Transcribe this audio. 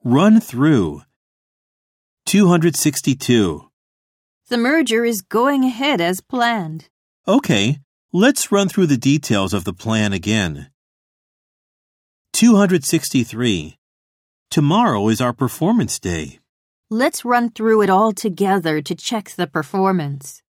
Run through. 262. The merger is going ahead as planned. Okay, let's run through the details of the plan again. 263. Tomorrow is our performance day. Let's run through it all together to check the performance.